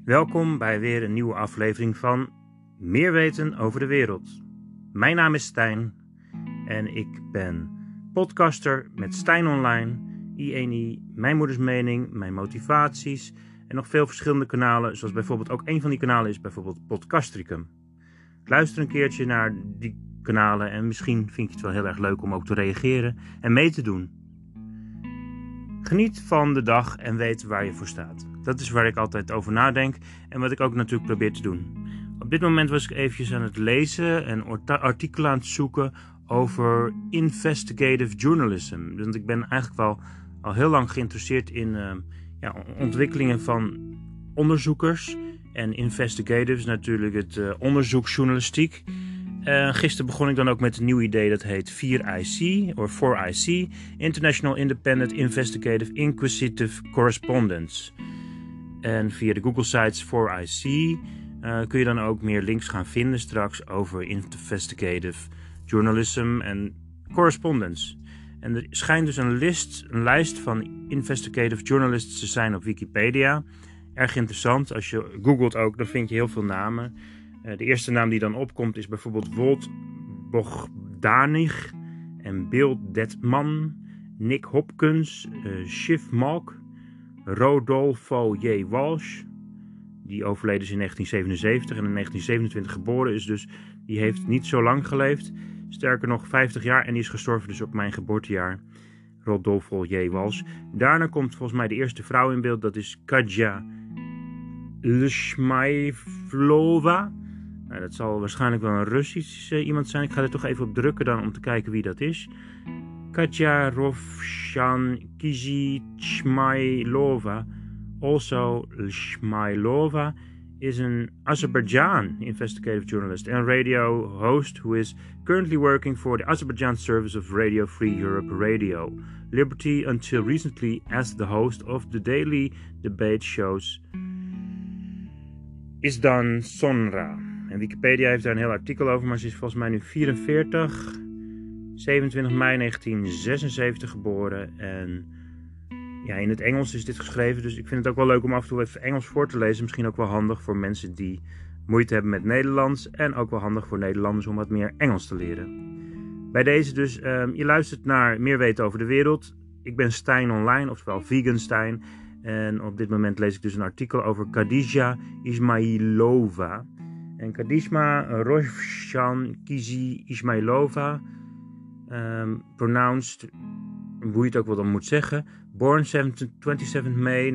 Welkom bij weer een nieuwe aflevering van Meer weten over de wereld. Mijn naam is Stijn en ik ben podcaster met Stijn Online, I1I, Mijn Moeders Mening, Mijn Motivaties en nog veel verschillende kanalen, zoals bijvoorbeeld ook een van die kanalen is bijvoorbeeld Podcastricum. Luister een keertje naar die kanalen en misschien vind je het wel heel erg leuk om ook te reageren en mee te doen. Geniet van de dag en weet waar je voor staat. Dat is waar ik altijd over nadenk en wat ik ook natuurlijk probeer te doen. Op dit moment was ik eventjes aan het lezen en artikelen aan het zoeken over investigative journalism. Want ik ben eigenlijk wel al heel lang geïnteresseerd in ontwikkelingen van onderzoekers. En investigative is natuurlijk het onderzoeksjournalistiek. Gisteren begon ik dan ook met een nieuw idee dat heet 4IC, of 4IC, International Independent Investigative Inquisitive Correspondence. En via de Google sites 4IC kun je dan ook meer links gaan vinden straks over investigative journalism en correspondence. En er schijnt dus een lijst van investigative journalists te zijn op Wikipedia. Erg interessant, als je googelt ook, dan vind je heel veel namen. De eerste naam die dan opkomt is bijvoorbeeld Wolt Bogdanich en Bill Detman, Nick Hopkins, Shiv Malk, Rodolfo J. Walsh, die overleden is in 1977 en in 1927 geboren is, dus die heeft niet zo lang geleefd. Sterker nog 50 jaar en die is gestorven dus op mijn geboortejaar. Rodolfo J. Walsh. Daarna komt volgens mij de eerste vrouw in beeld, dat is Katja Lshmailova. Nou, dat zal waarschijnlijk wel een Russisch iemand zijn. Ik ga er toch even op drukken dan om te kijken wie dat is. Katja Rovshan Kizhitshmailova, also Lshmailova, is an Azerbaijan investigative journalist and radio host who is currently working for the Azerbaijan service of Radio Free Europe Radio Liberty until recently as the host of the daily debate shows Izdan Sonra. En Wikipedia heeft daar een heel artikel over, maar ze is volgens mij nu 44, 27 mei 1976 geboren. En ja, in het Engels is dit geschreven, dus ik vind het ook wel leuk om af en toe even Engels voor te lezen. Misschien ook wel handig voor mensen die moeite hebben met Nederlands. En ook wel handig voor Nederlanders om wat meer Engels te leren. Bij deze dus, je luistert naar Meer weten over de wereld. Ik ben Stijn Online, oftewel Vegan Stijn. En op dit moment lees ik dus een artikel over Khadija Ismailova. En Khadija Rovshan Kizhitshmailova, pronounced, hoe je het ook wel dan moet zeggen, born 27 May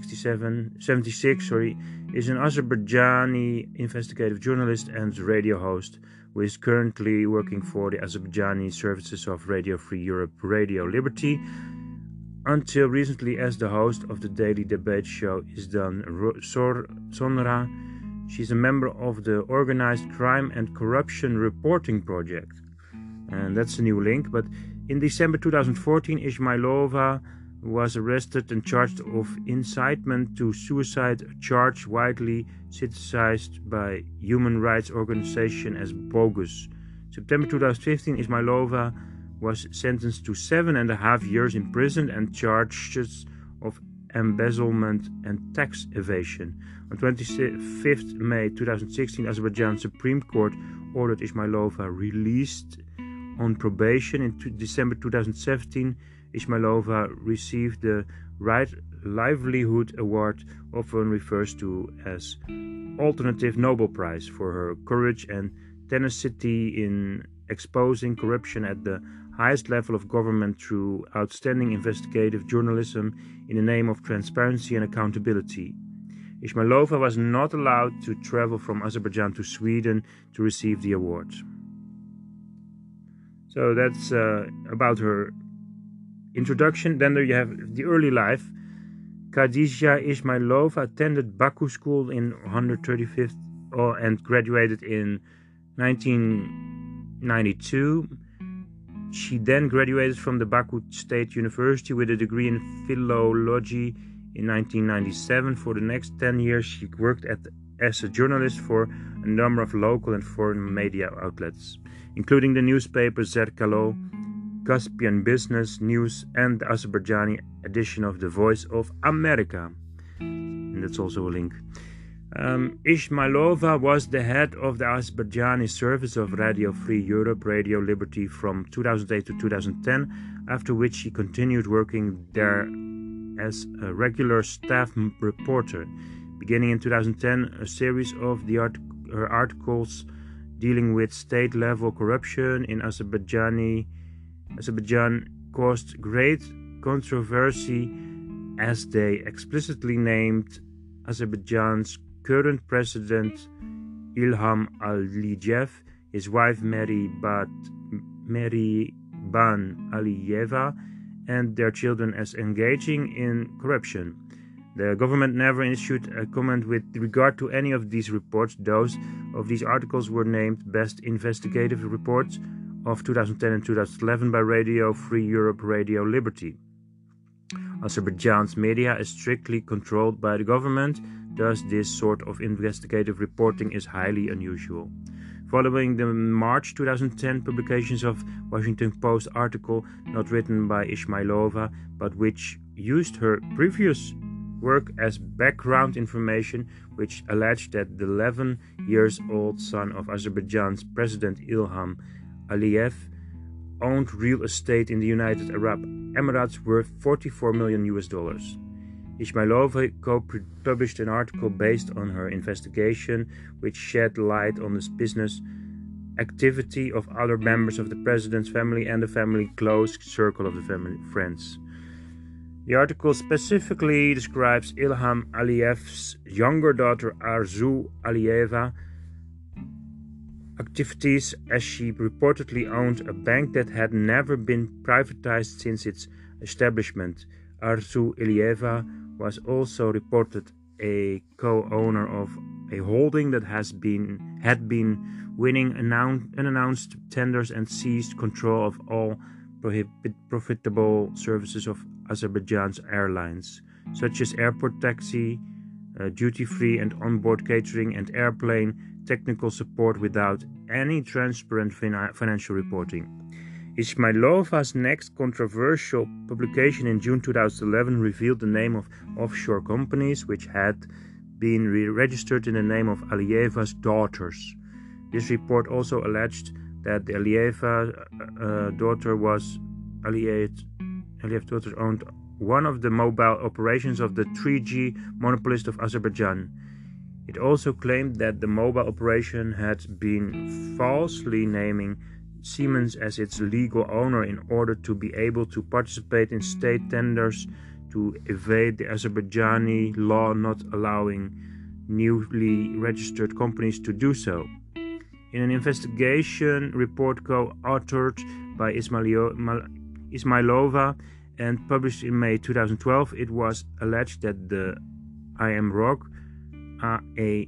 1976, is an Azerbaijani investigative journalist and radio host who is currently working for the Azerbaijani services of Radio Free Europe Radio Liberty until recently as the host of the daily debate show Izdan Sonra. She's a member of the Organized Crime and Corruption Reporting Project. And that's a new link. But in December 2014, Ismailova was arrested and charged of incitement to suicide, a charge widely criticized by human rights organizations as bogus. September 2015, Ismailova was sentenced to 7.5 years in prison and charges of embezzlement and tax evasion. On 25th May 2016, Azerbaijan Supreme Court ordered Ismailova released on probation. In December 2017, Ismailova received the Right Livelihood Award, often referred to as Alternative Nobel Prize, for her courage and tenacity in exposing corruption at the highest level of government through outstanding investigative journalism in the name of transparency and accountability. Ismailova was not allowed to travel from Azerbaijan to Sweden to receive the award. So that's about her introduction. Then there you have the early life. Khadija Ismailova attended Baku School in 135th and graduated in 1992. She then graduated from the Baku State University with a degree in philology in 1997. For the next 10 years, she worked as a journalist for a number of local and foreign media outlets, including the newspaper Zerkalo, Caspian Business News, and the Azerbaijani edition of The Voice of America. And that's also a link. Ismailova was the head of the Azerbaijani service of Radio Free Europe, Radio Liberty from 2008 to 2010, after which she continued working there as a regular staff reporter. Beginning in 2010, a series of her articles dealing with state-level corruption in Azerbaijan caused great controversy as they explicitly named Azerbaijan's current president Ilham Aliyev, his wife Mehriban Aliyeva, and their children as engaging in corruption. The government never issued a comment with regard to any of these reports. Those of these articles were named Best Investigative Reports of 2010 and 2011 by Radio Free Europe, Radio Liberty. Azerbaijan's media is strictly controlled by the government, thus this sort of investigative reporting is highly unusual. Following the March 2010 publications of Washington Post article, not written by Ismailova, but which used her previous work as background information, which alleged that the 11-year-old son of Azerbaijan's President Ilham Aliyev owned real estate in the United Arab Emirates worth $44 million. Ismailova co-published an article based on her investigation, which shed light on the business activity of other members of the president's family and the family close circle of the family friends. The article specifically describes Ilham Aliyev's younger daughter Arzu Aliyeva activities, as she reportedly owned a bank that had never been privatized since its establishment. Arzu Aliyeva was also reported a co-owner of a holding that had been winning unannounced tenders and seized control of all profitable services of Azerbaijan's airlines, such as airport taxi, duty-free and onboard catering, and airplane technical support without any transparent financial reporting. Ismailova's next controversial publication in June 2011 revealed the name of offshore companies which had been registered in the name of Aliyeva's daughters. This report also alleged that the Aliyev daughter owned one of the mobile operations of the 3G monopolist of Azerbaijan. It also claimed that the mobile operation had been falsely naming Siemens as its legal owner in order to be able to participate in state tenders to evade the Azerbaijani law not allowing newly registered companies to do so. In an investigation report co-authored by Ismailova and published in May 2012, it was alleged that the IMROC, the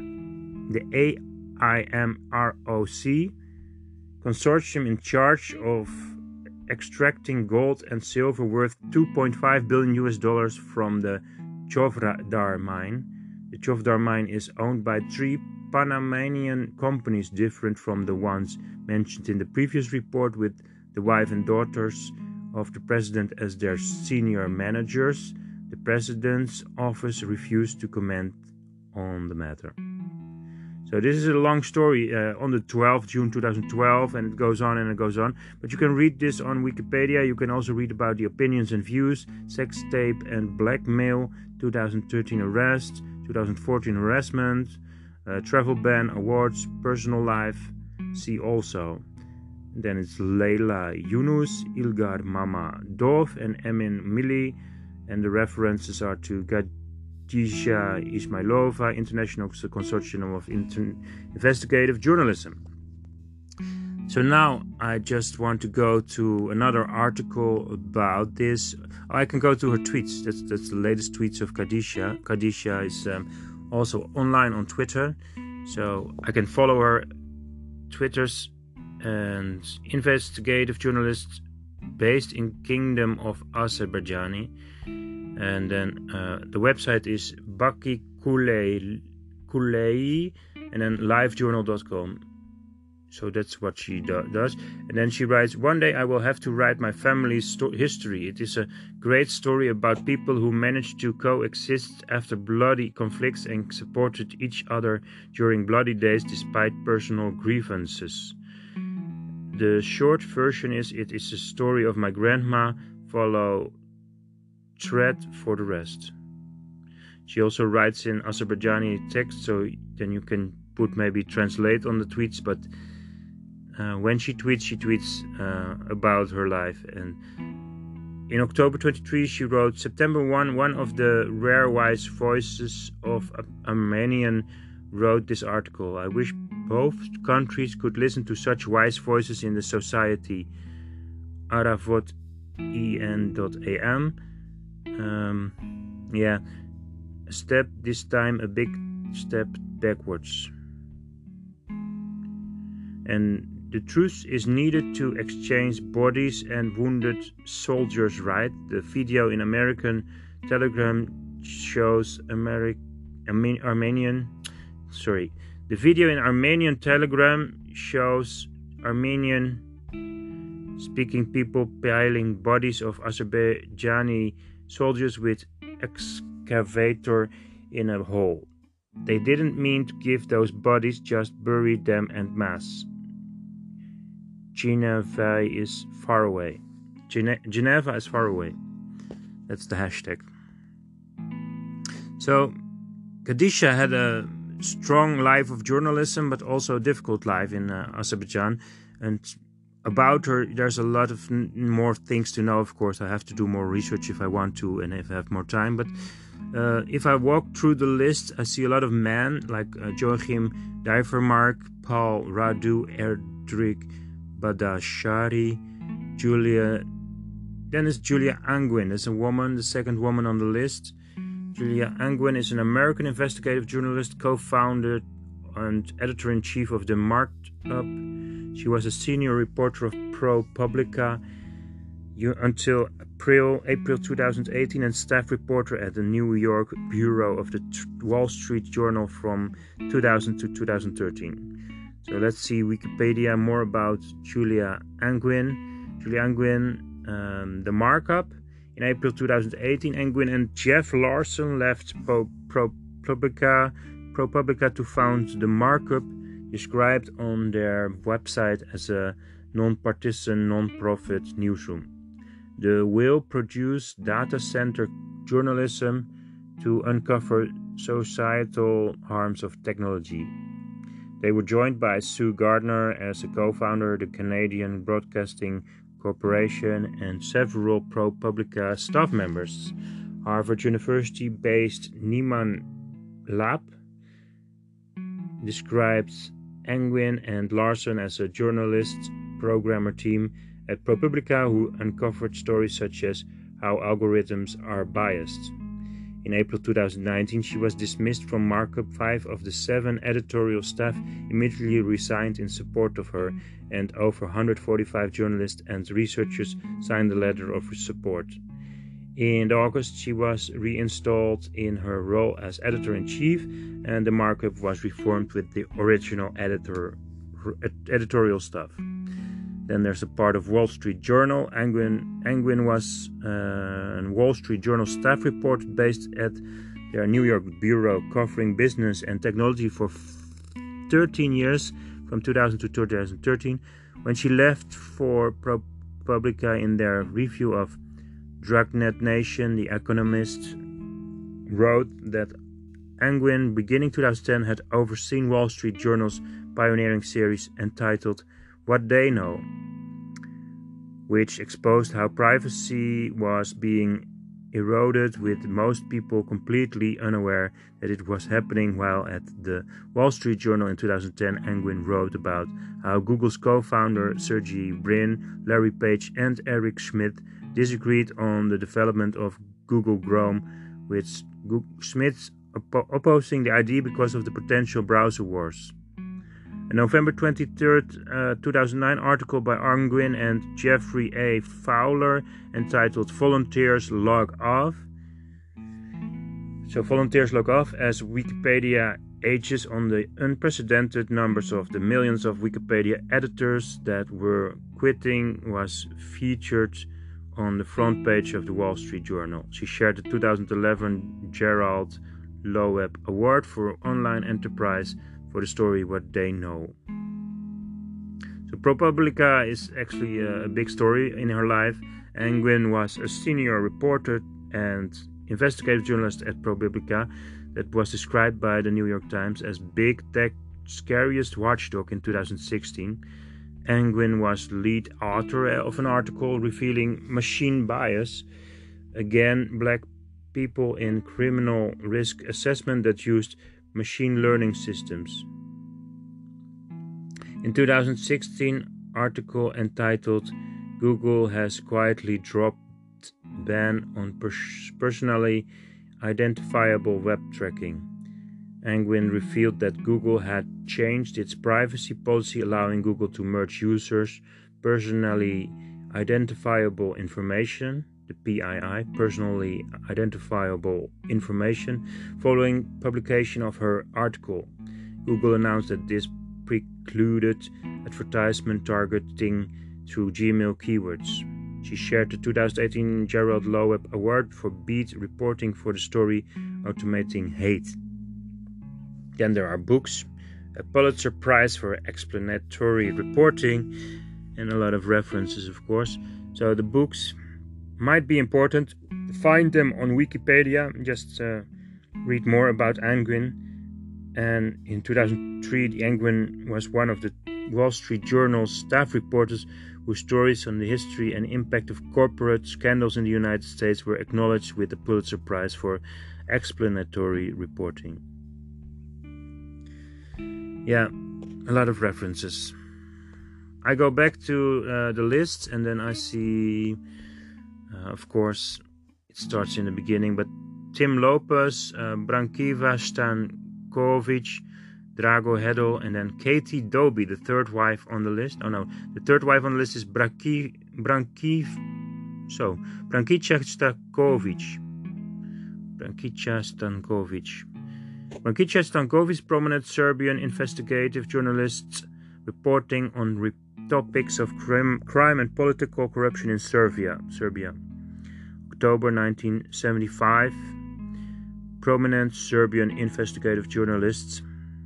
AIMROC consortium in charge of extracting gold and silver worth $2.5 billion from the Chovdar mine. The Chovdar mine is owned by 3 Panamanian companies different from the ones mentioned in the previous report, with the wife and daughters of the president as their senior managers. The president's office refused to comment on the matter. So this is a long story on the 12th June 2012, and it goes on and it goes on. But you can read this on Wikipedia. You can also read about the opinions and views, sex tape and blackmail, 2013 arrest, 2014 harassment, travel ban, awards, personal life. See also. And then it's Leila Yunus, Ilgar Mammadov, and Emin Milli, and the references are to Khadija Ismailova, International Consortium of Investigative Journalism. So now I just want to go to another article about this. I can go to her tweets. That's the latest tweets of Khadija. Khadija is also online on Twitter, so I can follow her Twitters. And investigative journalist based in Kingdom of Azerbaijani. And then the website is Baki Kulei and then livejournal.com. So that's what she does. And then she writes, "One day I will have to write my family's history. It is a great story about people who managed to coexist after bloody conflicts and supported each other during bloody days despite personal grievances. The short version is, it is a story of my grandma. Follow thread for the rest." She also writes in Azerbaijani text, so then you can put maybe translate on the tweets, but when she tweets about her life. And in October 23, she wrote, "September 1, one of the rare wise voices of Armenian wrote this article. I wish both countries could listen to such wise voices in the society. Aravot.en.am. A step, this time a big step backwards. And the truth is needed to exchange bodies and wounded soldiers, right? The video in American Telegram shows The video in Armenian Telegram shows Armenian speaking people piling bodies of Azerbaijani soldiers with excavator in a hole. They didn't mean to give those bodies, just buried them en masse. Geneva is far away. Geneva is far away. That's the hashtag. So, Khadija had a strong life of journalism, but also a difficult life in Azerbaijan. And about her, there's a lot of more things to know, of course. I have to do more research if I want to and if I have more time. But if I walk through the list, I see a lot of men like Joachim Divermark, Paul Radu, Erdrich Badashari, Julia. Then is Julia Angwin. There's a woman, the second woman on the list. Julia Angwin is an American investigative journalist, co-founder and editor-in-chief of The Marked Up. She was a senior reporter of ProPublica until April 2018 and staff reporter at the New York bureau of the Wall Street Journal from 2000 to 2013. So let's see Wikipedia more about Julia Angwin. Julia Angwin, The Markup. In April 2018, Angwin and Jeff Larson left ProPublica to found The Markup, described on their website as a non-partisan, non-profit newsroom. The will produce data center journalism to uncover societal harms of technology. They were joined by Sue Gardner as a co-founder, the Canadian Broadcasting Corporation, and several ProPublica staff members. Harvard University-based Nieman Lab describes Angwin and Larson as a journalist programmer team at ProPublica who uncovered stories such as how algorithms are biased. In April 2019, she was dismissed from Markup. 5 of the 7 editorial staff immediately resigned in support of her, and over 145 journalists and researchers signed a letter of support. In August, she was reinstalled in her role as editor-in-chief, and the Markup was reformed with the original editorial staff. Then there's a part of Wall Street Journal. Angwin was a Wall Street Journal staff reporter based at their New York bureau, covering business and technology for 13 years, from 2000 to 2013. When she left for ProPublica, in their review of Dragnet Nation, The Economist wrote that Angwin, beginning 2010, had overseen Wall Street Journal's pioneering series entitled What They Know, which exposed how privacy was being eroded, with most people completely unaware that it was happening. While at the Wall Street Journal in 2010, Angwin wrote about how Google's co-founder Sergey Brin, Larry Page and Eric Schmidt disagreed on the development of Google Chrome, with Schmidt opposing the idea because of the potential browser wars. A November 23rd, 2009 article by Angwin and Jeffrey A. Fowler entitled Volunteers Log Off. So volunteers log off, as Wikipedia ages on the unprecedented numbers of the millions of Wikipedia editors that were quitting was featured on the front page of the Wall Street Journal. She shared the 2011 Gerald Loeb Award for Online Enterprise for the story What They Know. So ProPublica is actually a big story in her life. Nguyen was a senior reporter and investigative journalist at ProPublica that was described by the New York Times as Big Tech's scariest watchdog in 2016. Nguyen was the lead author of an article revealing machine bias, again black people in criminal risk assessment that used machine learning systems. In 2016, article entitled Google has quietly dropped ban on personally identifiable web tracking. Nguyen revealed that Google had changed its privacy policy, allowing Google to merge users' personally identifiable information, the PII, personally identifiable information, following publication of her article. Google announced that this precluded advertisement targeting through Gmail keywords. She shared the 2018 Gerald Loeb Award for beat reporting for the story Automating Hate. Then there are books, a Pulitzer Prize for explanatory reporting, and a lot of references, of course. So the books might be important. Find them on Wikipedia. Just read more about Nguyen. And in 2003, Nguyen was one of the Wall Street Journal's staff reporters whose stories on the history and impact of corporate scandals in the United States were acknowledged with the Pulitzer Prize for explanatory reporting. Yeah, a lot of references. I go back to the list and then I see, of course, it starts in the beginning, but Tim Lopez, Brankiva Stankovic, Drago Hedl, and then Katie Dobie, the third wife on the list. Oh no, the third wife on the list is Brankica Stankovic. Brankica Stankovic, prominent Serbian investigative journalist reporting on topics of crime and political corruption in Serbia. October 1975. Prominent Serbian investigative journalists.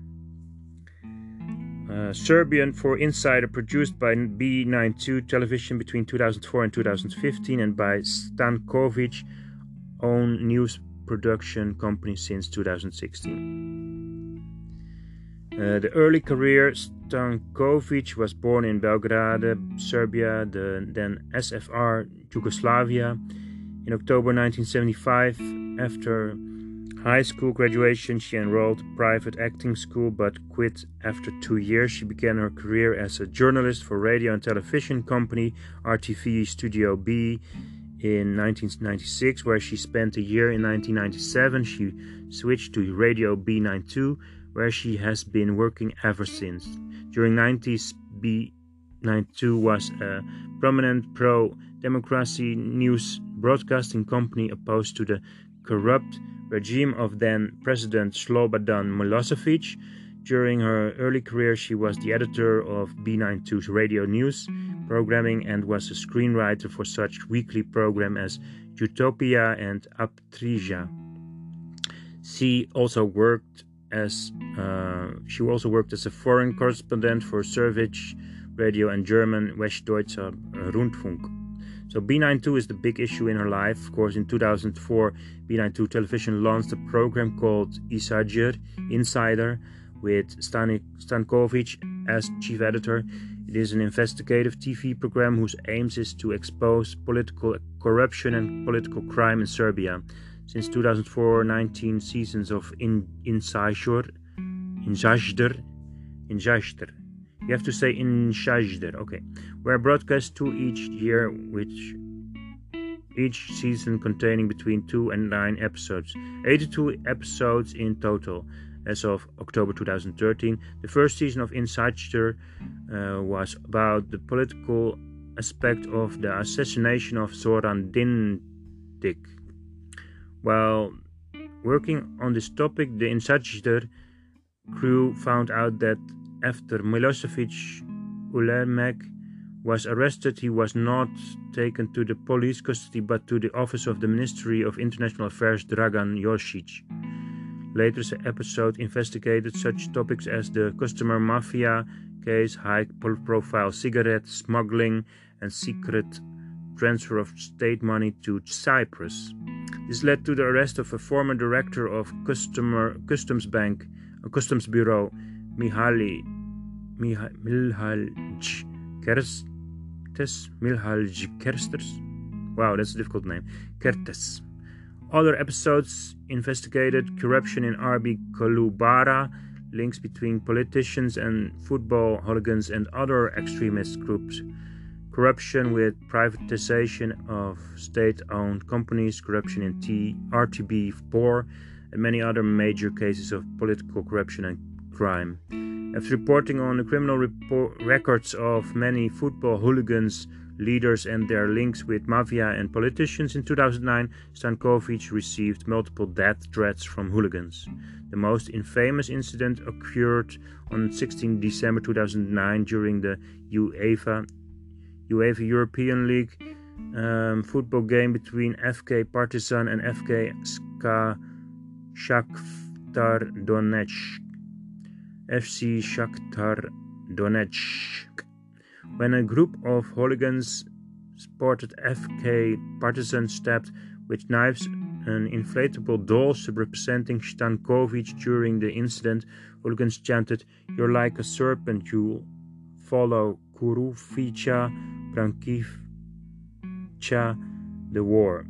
Serbian for Insider, produced by B92 Television between 2004 and 2015, and by Stankovic, own news production company since 2016. The early career, Stankovic was born in Belgrade, Serbia, then SFR Yugoslavia. In October 1975, after high school graduation, she enrolled in private acting school but quit after 2 years. She began her career as a journalist for radio and television company RTV Studio B in 1996, where she spent a year. In 1997, she switched to Radio B92, where she has been working ever since. During 90s, B92 was a prominent pro-democracy news broadcasting company opposed to the corrupt regime of then-President Slobodan Milosevic. During her early career, she was the editor of B92's radio news programming and was a screenwriter for such weekly programs as Utopia and Aptrija. She also worked as a foreign correspondent for Sveriges Radio and German Westdeutscher Rundfunk. So B92 is the big issue in her life. Of course, in 2004, B92 Television launched a program called Insider, with Stankovic as chief editor. It is an investigative TV program whose aims is to expose political corruption and political crime in Serbia. Since 2004, 19 seasons of Insider. You have to say Insider, okay. Were broadcast 2 each year, which each season containing between 2 and 9 episodes. 82 episodes in total. As of October 2013, the first season of Insider was about the political aspect of the assassination of Zoran Dindic. While working on this topic, the Insider crew found out that after Milosevic Ulemek was arrested, he was not taken to the police custody but to the office of the Ministry of International Affairs Dragan Josic. Later, the episode investigated such topics as the customer mafia case, high-profile cigarette smuggling, and secret transfer of state money to Cyprus. This led to the arrest of a former director of Customs Bureau, Mihalj Kersters. Wow, that's a difficult name. Kertes. Other episodes investigated corruption in RB Kolubara, links between politicians and football hooligans and other extremist groups, corruption with privatization of state-owned companies, corruption in RTB4, and many other major cases of political corruption and crime. After reporting on the criminal records of many football hooligans, leaders and their links with mafia and politicians, in 2009, Stankovic received multiple death threats from hooligans. The most infamous incident occurred on 16 December 2009 during the UEFA European League football game between FK Partizan and FK Shakhtar Donetsk. FC Shakhtar Donetsk. When a group of hooligans spotted FK Partizan stabbed with knives an inflatable doll representing Stankovic during the incident, hooligans chanted, "You're like a serpent, you'll follow Kurufica, Brankica, the whore,"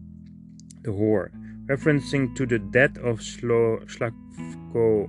referencing to the death of Slavko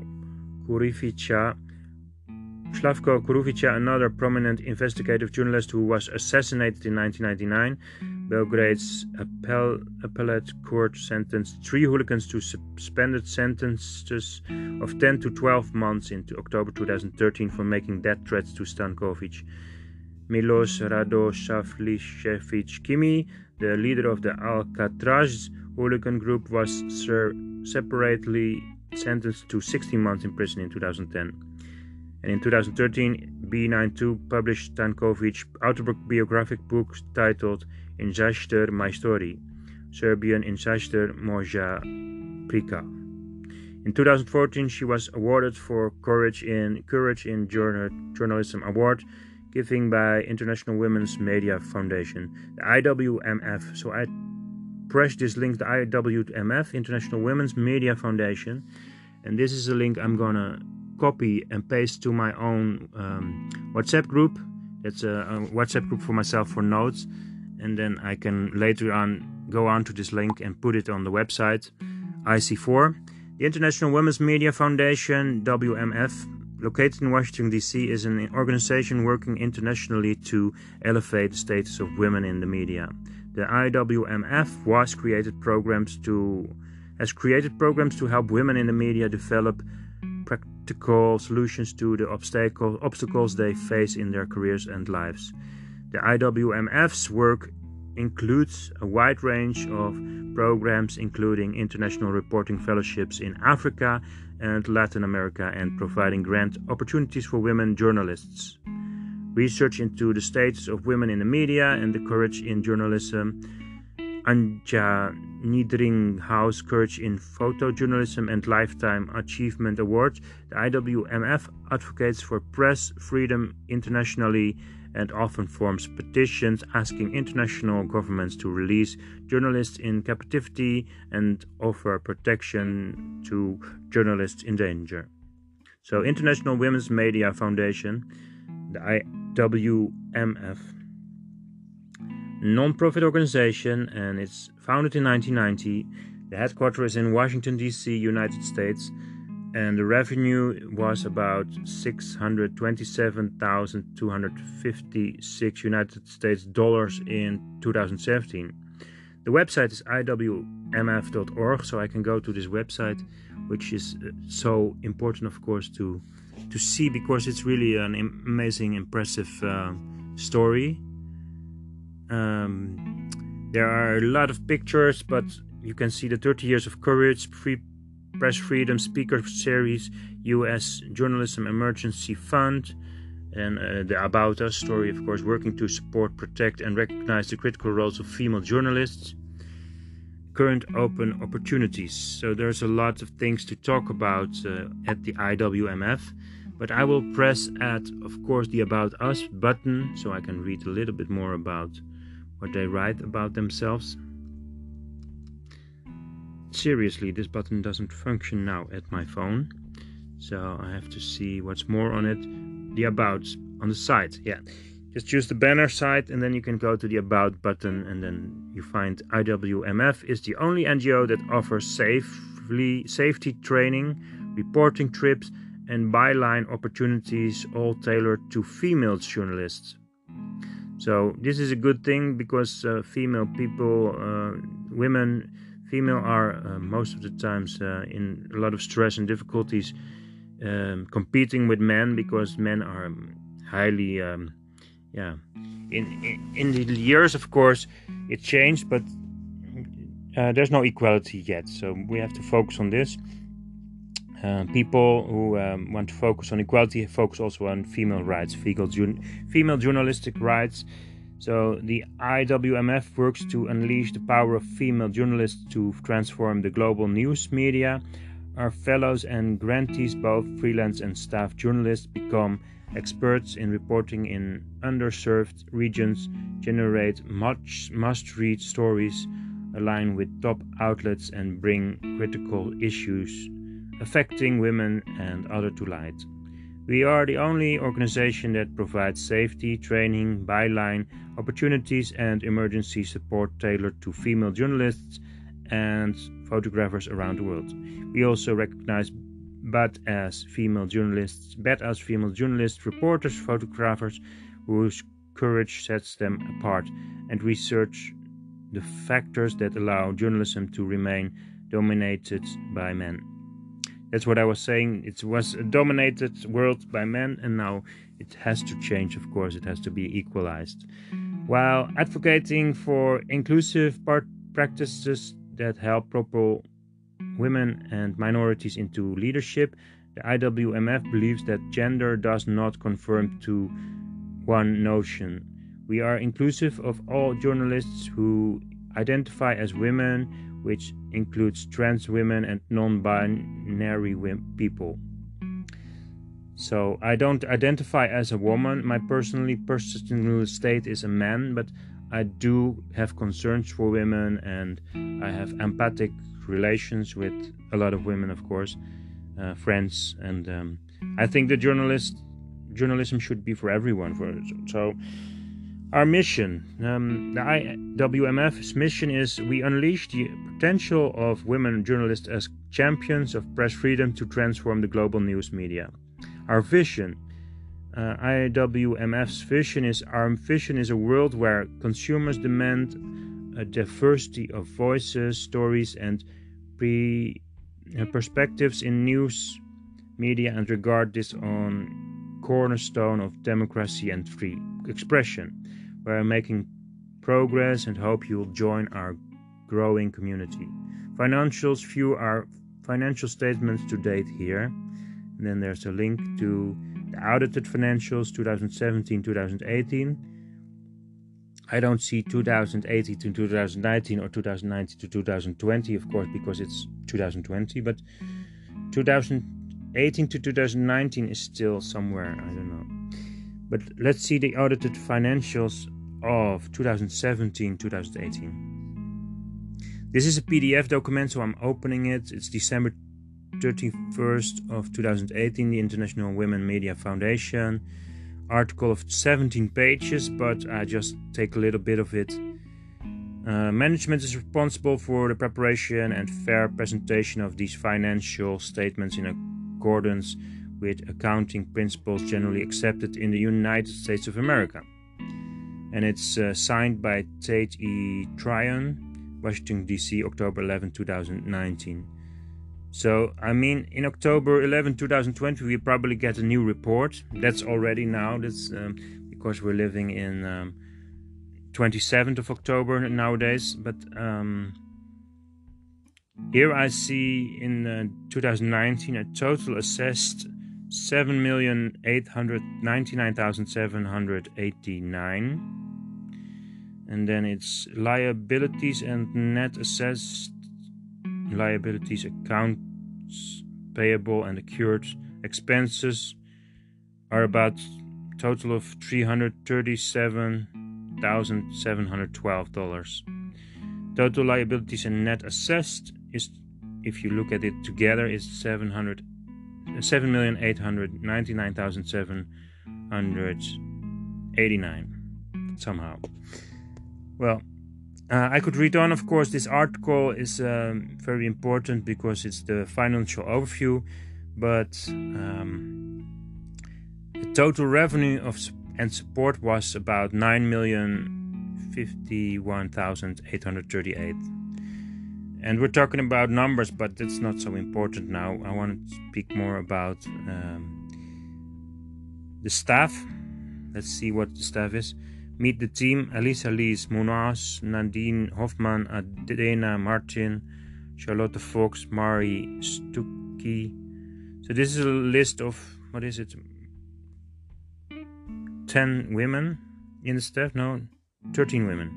Kurufica, another prominent investigative journalist who was assassinated in 1999. Belgrade's appellate court sentenced 3 hooligans to suspended sentences of 10 to 12 months into October 2013 for making death threats to Stankovic. Milos Radosavljevic Kimi, the leader of the Alcatraz hooligan group, was separately sentenced to 16 months in prison in 2010. And in 2013, B92 published Stankovic's autobiographic book titled In Zaster My Story, Serbian In Zaster Moja Prika. In 2014, she was awarded for Courage in Journalism Award, given by International Women's Media Foundation, the IWMF. So I pressed this link, the IWMF, International Women's Media Foundation, and this is a link I'm gonna copy and paste to my own WhatsApp group. That's a WhatsApp group for myself for notes, and then I can later on go on to this link and put it on the website IC4. The International Women's Media Foundation, WMF, located in Washington, D.C., is an organization working internationally to elevate the status of women in the media. The IWMF has created programs to help women in the media develop practical solutions to the obstacles they face in their careers and lives. The IWMF's work includes a wide range of programs, including international reporting fellowships in Africa and Latin America, and providing grant opportunities for women journalists. Research into the status of women in the media and the Courage in Journalism, Anja Niedringhaus Courage in Photojournalism and Lifetime Achievement Awards. The IWMF advocates for press freedom internationally and often forms petitions asking international governments to release journalists in captivity and offer protection to journalists in danger. So, International Women's Media Foundation, the IWMF, non-profit organization, and it's founded in 1990. The headquarters is in Washington, D.C., United States, and the revenue was about $627,256 United States dollars in 2017. The website is iwmf.org, so I can go to this website, which is so important, of course, to see, because it's really an amazing, impressive story. There are a lot of pictures, but you can see the 30 years of courage, free Press Freedom Speaker Series, U.S. Journalism Emergency Fund, and the About Us story, of course, working to support, protect, and recognize the critical roles of female journalists. Current open opportunities. So there's a lot of things to talk about at the IWMF, but I will press of course, the About Us button so I can read a little bit more about what they write about themselves. Seriously, this button doesn't function now at my phone, so I have to see what's more on it. The About on the site, yeah. Just choose the banner site and then you can go to the About button, and then you find IWMF is the only NGO that offers safety training, reporting trips, and byline opportunities, all tailored to female journalists. So this is a good thing because female are most of the times in a lot of stress and difficulties competing with men, because men are highly in the years, of course, it changed, but there's no equality yet, so we have to focus on this. People who want to focus on equality focus also on female rights, female journalistic rights. So the IWMF works to unleash the power of female journalists to transform the global news media. Our fellows and grantees, both freelance and staff journalists, become experts in reporting in underserved regions, generate must-read stories, align with top outlets, and bring critical issues affecting women and others to light. We are the only organization that provides safety, training, byline, opportunities, and emergency support tailored to female journalists and photographers around the world. We also recognize badass female journalists, reporters, photographers whose courage sets them apart, and research the factors that allow journalism to remain dominated by men. That's what I was saying. It was a dominated world by men, and now it has to change, of course. It has to be equalized. While advocating for inclusive practices that help propel women and minorities into leadership, the IWMF believes that gender does not conform to one notion. We are inclusive of all journalists who identify as women, which includes trans women and non-binary people. So I don't identify as a woman. My personal state is a man, but I do have concerns for women, and I have empathic relations with a lot of women, of course, friends, and I think that journalism should be for everyone. So our mission, the IWMF's mission is: we unleash the potential of women journalists as champions of press freedom to transform the global news media. Our vision, IWMF's vision is a world where consumers demand a diversity of voices, stories, and perspectives in news media, and regard this on cornerstone of democracy and free expression. We are making progress and hope you'll join our growing community. Financials, view our financial statements to date here. And then there's a link to the audited financials 2017-2018. I don't see 2018 to 2019 or 2019 to 2020, of course, because it's 2020, but 2018 to 2019 is still somewhere, I don't know. But let's see the audited financials of 2017-2018. This is a PDF document, so I'm opening it. It's December 31st of 2018, the International Women Media Foundation. Article of 17 pages, but I just take a little bit of it. Management is responsible for the preparation and fair presentation of these financial statements in accordance with accounting principles generally accepted in the United States of America. And it's signed by Tate E. Tryon, Washington, D.C., October 11, 2019. So, I mean, in October 11, 2020, we probably get a new report. That's already now. That's because we're living in 27th of October nowadays. But Here I see in 2019 a total assessed 7,899,789, and then it's liabilities and net assessed liabilities, accounts payable and accrued expenses are about total of $337,712. Total liabilities and net assessed is, if you look at it together, is 7,899,789 somehow. Well, I could read on, of course. This article is very important because it's the financial overview, but the total revenue and support was about 9,051,838. And we're talking about numbers, but that's not so important now. I want to speak more about the staff. Let's see what the staff is. Meet the team: Elisa Lies Munoz, Nadine Hofman, Adena Martin, Charlotte Fox, Mari Stuckey. So this is a list of, 10 women in the staff? No, 13 women.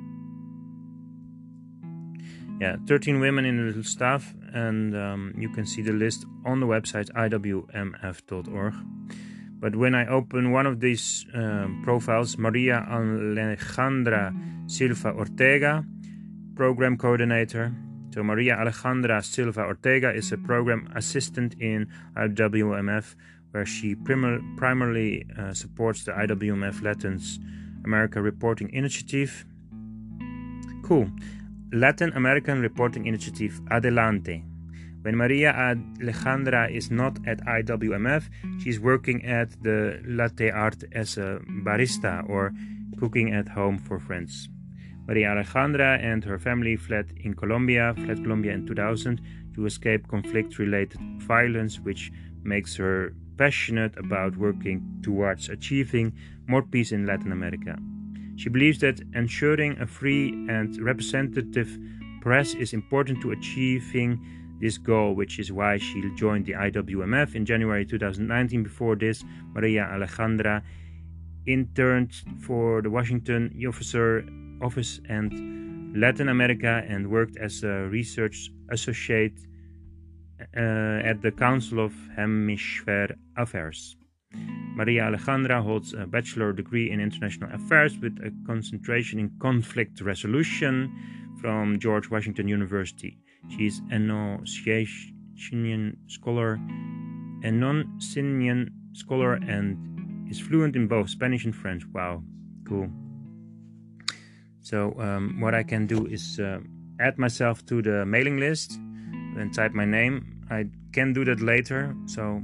Yeah, 13 women in the staff, and you can see the list on the website iwmf.org. But when I open one of these profiles, Maria Alejandra Silva Ortega, Program Coordinator. So Maria Alejandra Silva Ortega is a Program Assistant in IWMF, where she primarily supports the IWMF Latin America Reporting Initiative. Cool. Latin American Reporting Initiative, adelante. When Maria Alejandra is not at IWMF, she's working at the Latte Art as a barista or cooking at home for friends. Maria Alejandra and her family fled Colombia in 2000 to escape conflict-related violence, which makes her passionate about working towards achieving more peace in Latin America. She believes that ensuring a free and representative press is important to achieving this goal, which is why she joined the IWMF in January 2019. Before this, Maria Alejandra interned for the Washington Office and Latin America and worked as a research associate at the Council of Hemisphere Affairs. Maria Alejandra holds a bachelor degree in international affairs with a concentration in conflict resolution from George Washington University. She is a non-Sicilian scholar and is fluent in both Spanish and French. Wow, cool. So what I can do is add myself to the mailing list and type my name. I can do that later. So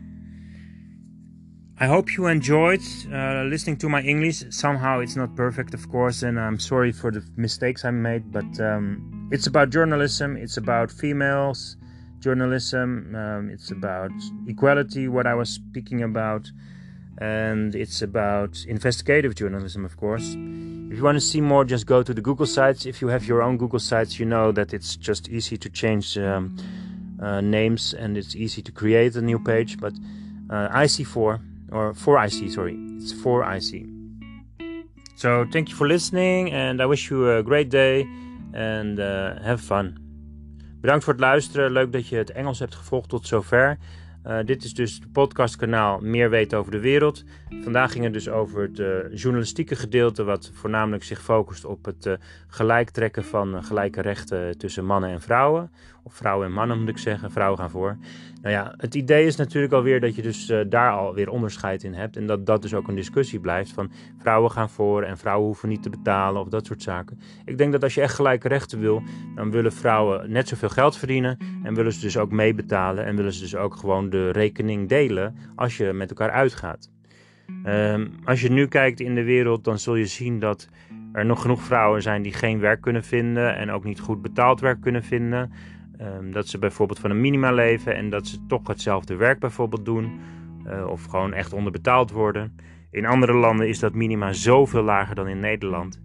I hope you enjoyed listening to my English. Somehow it's not perfect, of course, and I'm sorry for the mistakes I made, but it's about journalism, it's about females journalism, it's about equality, what I was speaking about, and it's about investigative journalism, of course. If you want to see more, just go to the Google sites. If you have your own Google sites, you know that it's just easy to change names, and it's easy to create a new page, but IC4, or 4IC, sorry, it's 4IC. So thank you for listening, and I wish you a great day, and have fun. Bedankt voor het luisteren, leuk dat je het Engels hebt gevolgd tot zover. Dit is dus het podcastkanaal Meer Weten over de Wereld. Vandaag ging het dus over het journalistieke gedeelte, wat voornamelijk zich focust op het gelijktrekken van gelijke rechten tussen mannen en vrouwen. Of vrouwen en mannen moet ik zeggen, vrouwen gaan voor. Nou ja, het idee is natuurlijk alweer dat je dus daar alweer onderscheid in hebt. En dat dus ook een discussie blijft van vrouwen gaan voor en vrouwen hoeven niet te betalen of dat soort zaken. Ik denk dat als je echt gelijke rechten wil, dan willen vrouwen net zoveel geld verdienen. En willen ze dus ook meebetalen en willen ze dus ook gewoon de rekening delen als je met elkaar uitgaat. Als je nu kijkt in de wereld, dan zul je zien dat er nog genoeg vrouwen zijn die geen werk kunnen vinden en ook niet goed betaald werk kunnen vinden. Dat ze bijvoorbeeld van een minima leven en dat ze toch hetzelfde werk bijvoorbeeld doen. Of gewoon echt onderbetaald worden. In andere landen is dat minima zoveel lager dan in Nederland.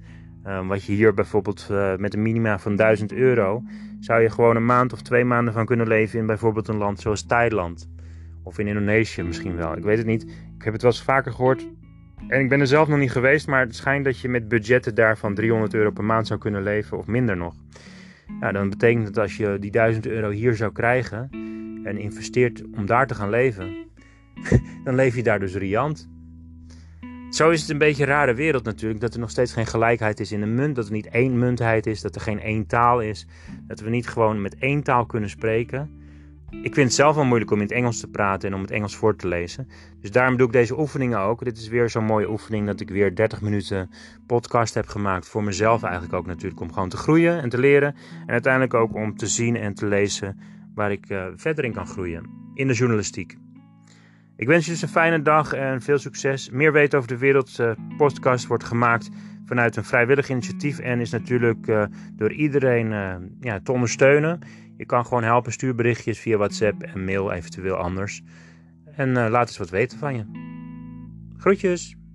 Wat je hier bijvoorbeeld met een minima van €1000... zou je gewoon een maand of 2 maanden van kunnen leven in bijvoorbeeld een land zoals Thailand. Of in Indonesië misschien wel. Ik weet het niet. Ik heb het wel eens vaker gehoord. En ik ben er zelf nog niet geweest. Maar het schijnt dat je met budgetten daarvan €300 per maand zou kunnen leven. Of minder nog. Nou, dan betekent het als je die €1000 hier zou krijgen. En investeert om daar te gaan leven. Dan leef je daar dus riant. Zo is het een beetje een rare wereld natuurlijk. Dat er nog steeds geen gelijkheid is in de munt. Dat er niet één muntheid is. Dat er geen één taal is. Dat we niet gewoon met één taal kunnen spreken. Ik vind het zelf wel moeilijk om in het Engels te praten en om het Engels voor te lezen. Dus daarom doe ik deze oefeningen ook. Dit is weer zo'n mooie oefening dat ik weer 30 minuten podcast heb gemaakt. Voor mezelf eigenlijk ook natuurlijk. Om gewoon te groeien en te leren. En uiteindelijk ook om te zien en te lezen waar ik verder in kan groeien. In de journalistiek. Ik wens je dus een fijne dag en veel succes. Meer weten over de wereld. Podcast wordt gemaakt vanuit een vrijwillig initiatief. En is natuurlijk door iedereen te ondersteunen. Je kan gewoon helpen, stuur berichtjes via WhatsApp en mail eventueel anders. En laat eens wat weten van je. Groetjes!